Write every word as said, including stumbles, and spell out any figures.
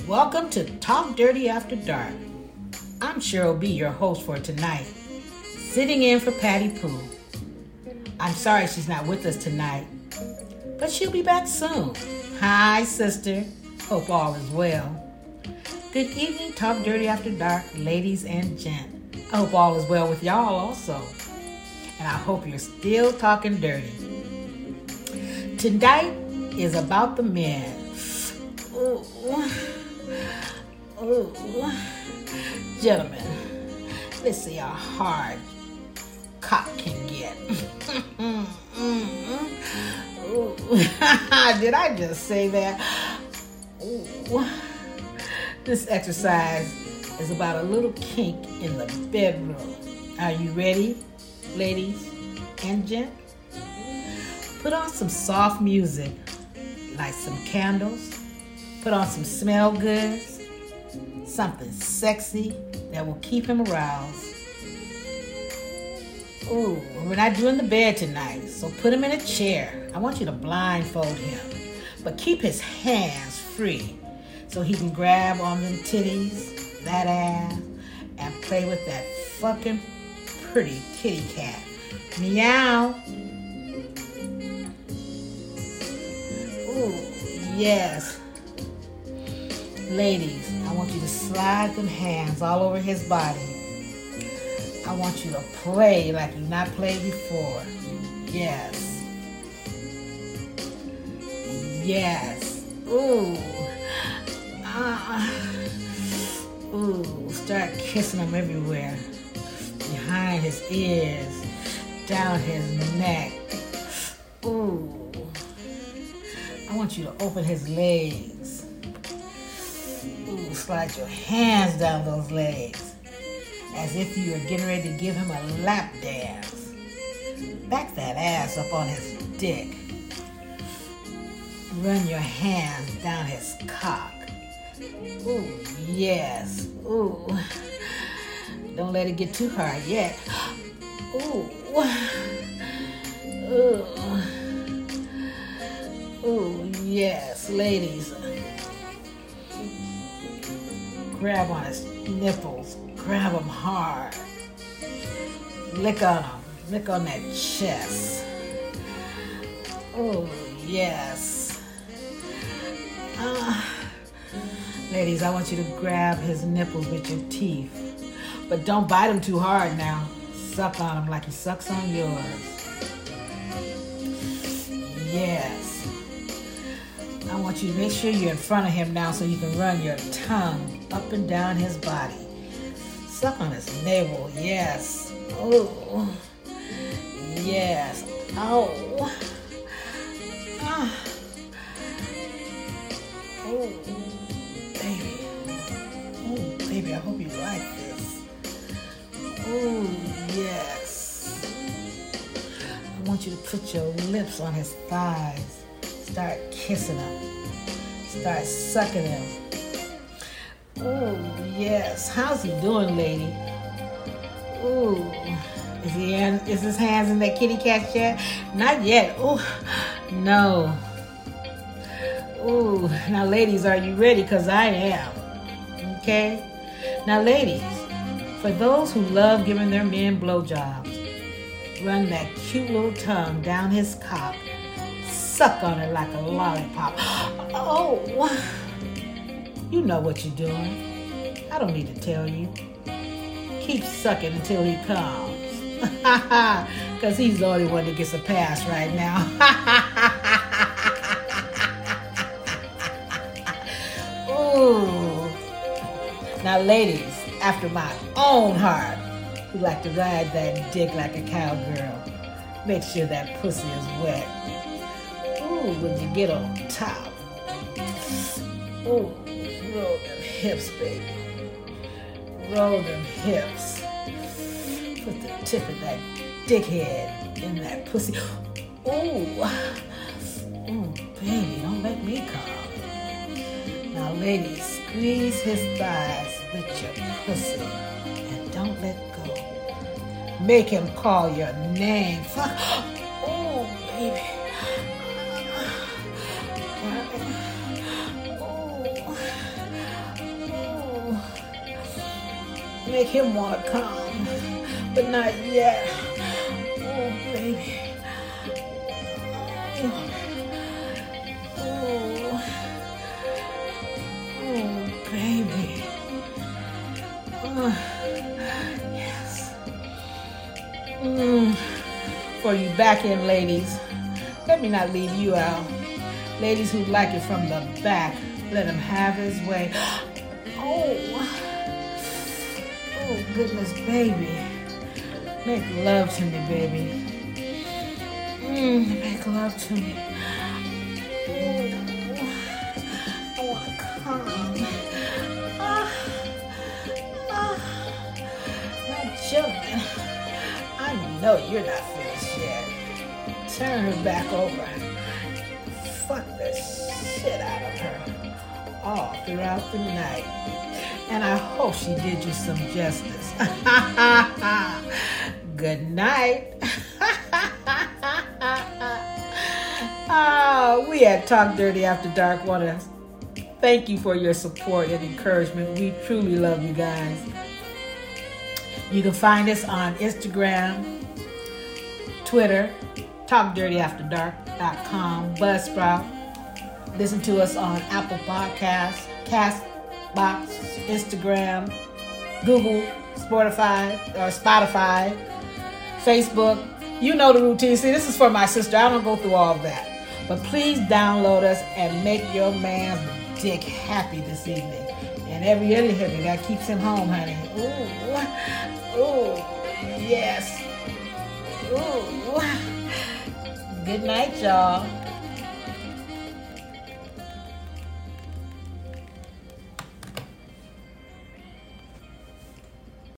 Welcome to Talk Dirty After Dark. I'm Cheryl B., your host for tonight, sitting in for Patty Pooh. I'm sorry she's not with us tonight, but she'll be back soon. Hi, sister. Hope all is well. Good evening, Talk Dirty After Dark, ladies and gents. I hope all is well with y'all also. And I hope you're still talking dirty. Tonight is about the men. Ooh. Ooh. Gentlemen, let's see how hard cock can get. Ooh. Did I just say that? Ooh. This exercise is about a little kink in the bedroom. Are you ready, ladies and gents? Put on some soft music, light some candles, put on some smell goods, something sexy that will keep him aroused. Ooh, we're not doing the bed tonight, so put him in a chair. I want you to blindfold him, but keep his hands free so he can grab on them titties, that ass, and play with that fucking pretty kitty cat. Meow. Ooh, yes. Ladies, I want you to slide them hands all over his body. I want you to play like you've not played before. Yes. Yes. Ooh. Ah. Ooh. Start kissing him everywhere. Behind his ears. Down his neck. Ooh. I want you to open his legs. Ooh, slide your hands down those legs as if you were getting ready to give him a lap dance. Back that ass up on his dick. Run your hands down his cock. Ooh, yes. Ooh. Don't let it get too hard yet. Ooh. Ooh. Ooh, yes, ladies. Grab on his nipples. Grab him hard. Lick on him. Lick on that chest. Oh, yes. Uh, ladies, I want you to grab his nipples with your teeth. But don't bite him too hard now. Suck on him like he sucks on yours. Yes. I want you to make sure you're in front of him now so you can run your tongue up and down his body. Suck on his navel, yes. Oh, yes. Oh. Ah. Oh, baby. Oh, baby, I hope you like this. Oh, yes. I want you to put your lips on his thighs. Start kissing him. Start sucking him. Oh, yes. How's he doing, lady? Ooh. Is he in, is his hands in that kitty cat yet? Not yet. Oh, no. Ooh. Now, ladies, are you ready? Because I am. Okay? Now, ladies, for those who love giving their men blowjobs, run that cute little tongue down his cock. Suck on it like a lollipop. Oh, you know what you're doing. I don't need to tell you. Keep sucking until he comes. Because he's the only one that gets a pass right now. Ooh. Now, ladies, after my own heart, who like to ride that dick like a cowgirl, make sure that pussy is wet. Ooh, when you get on top. Ooh, roll them hips, baby. Roll them hips. Put the tip of that dickhead in that pussy. Ooh. Ooh, baby, don't let me come. Now, ladies, squeeze his thighs with your pussy and don't let go. Make him call your name. Fuck. Ooh, baby. make him want to come, but not yet. Oh, baby. Oh, oh, oh baby. Oh, yes. Mm. For you back end ladies, let me not leave you out. Ladies who like it from the back, let him have his way. Oh, oh goodness, baby. Make love to me, baby. Mm, make love to me. Oh, I want to come. Ah, ah, now, gentlemen, I know you're not finished yet. Turn her back over. Fuck the shit out of her all throughout the night. And I hope she did you some justice. Good night. Oh, we at Talk Dirty After Dark want to thank you for your support and encouragement. We truly love you guys. You can find us on Instagram, Twitter, talk dirty after dark dot com, Buzzsprout. Listen to us on Apple Podcasts, Castbox, Instagram, Google, Spotify, or Spotify, Facebook. You know the routine. See, this is for my sister. I don't go through all of that. But please download us and make your man's dick happy this evening. And every other hippie that keeps him home, honey. Ooh, ooh, yes. Ooh. Good night, y'all.